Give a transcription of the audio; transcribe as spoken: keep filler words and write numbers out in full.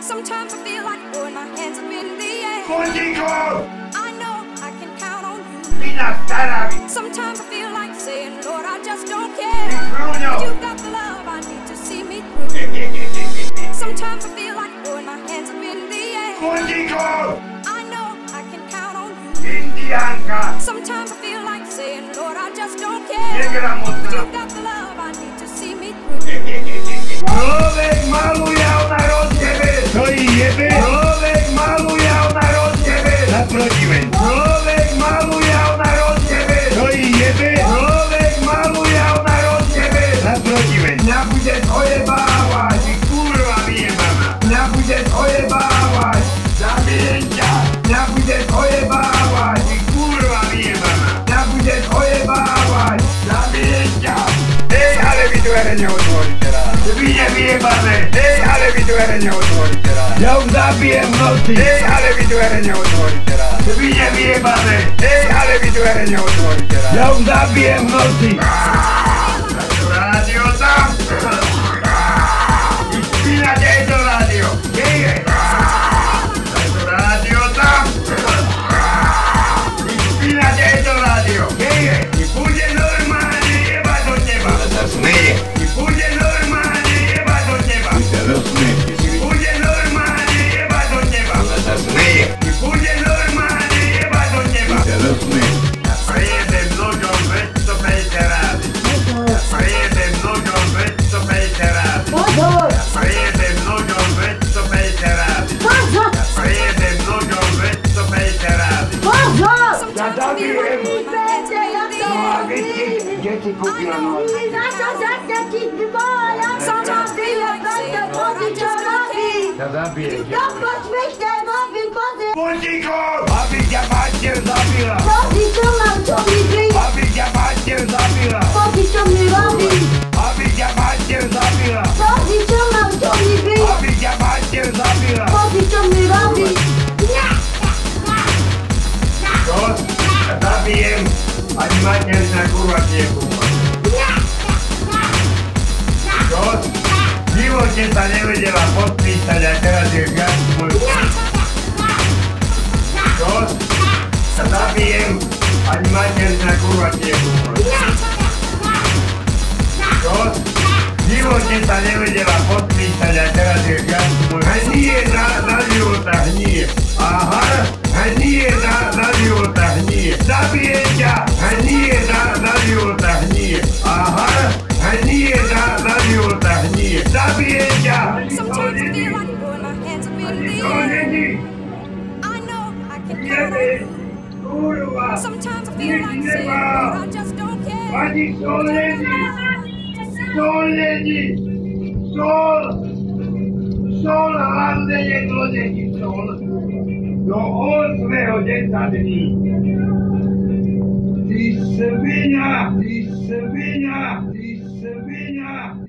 Sometimes I feel like throwing my hands up in the air. Končíko! I know I can count on you. Vina stará! Sometimes I feel like saying, Lord, I just don't care. Bruno! But you've got the love I need to see me through. Sometimes I feel like throwing my hands up in the air. Končíko! I know I can count on you. Indiánka! Sometimes I feel like saying, Lord, I just don't care. But Negramotná! you've got the love I need to see me through. Človek maluje, ona rozjebe! To jí jebe! Človek maluje, ona rozjebe! Naproti veň! Človek maluje, ona rozjebe! To jí jebe! Človek maluje, ona rozjebe! Naproti veň! Mňa bude ojebávať! Ty kurva vyjebaná! Mňa bude ojebávať! Zabijem ťa! Mňa bude ojebávať! Ty kurva vyjebaná! Mňa bude ojebávať! Zabijem ťa! Hej, ale vy dvere neotvoríte raz! Vy nevyjebané! Hej, ale vy dvere neotvoríte raz! Ja už zabijem v noci! Hej, ale vy dvere neotvoríte raz! Vy nevyjebané! Hej, ale vy dvere neotvoríte raz! Ja už zabijem v noci! Rádio tam! Vyspínate aj to rádio! Hej, hej! Rádio tam! Vyspínate aj to rádio! Hej, hej! I bude normálne jebať od teba! Ale sa smeje! I bude normálne jebať od teba! I sa rozsmeje! I bude normálne jebať od teba! Ale sa smeje! I bude normálne jebať od teba! I sa rozsmeje! Ja prejedem nožom dvestopäťdesiat rázy! Ja prejedem nožom dvestopäťdesiat rázy! Ja prejedem nožom dvestopäťdesiat rázy! Ja prejedem nožom dvestopäťdesiat rázy! Ja zabijem! No a vy ti, kde ti kúpila nož? Ja zabijem ťa! Končíko! Aby ťa mater zabila! Aby ťa mater zabila! Aby ťa mater zabila! Aby ťa mater zabila! Čo? Ja zabijem! Ani mater sa kurva nekúpa! Čo? V živote sa nevedela podpísať a teraz je viac môj... Čo? Ja zabijem! Ani mater sa kurva nekúpa! Čo? V živote sa nevedela podpísať a teraz je viac môj... Hnie za, za života, hnie! Aha! Hnie za, za života, hnie! Zabijem ťa! Hnie za, za života, hnie! Aha! Hnie za, za života, hnie! Zabijem ťa! Sometimes I feel like throwing my hands up in the To air. není! I know I can count on Jebe! you. Kurva! Sometimes I feel like saying, Lord, I just don't care. Ani sol není! Sol není! Sol! Sol hlavne jedlo není sol! Do osmého desať dní! Ty svinia! Ty svinia! Ty svinia!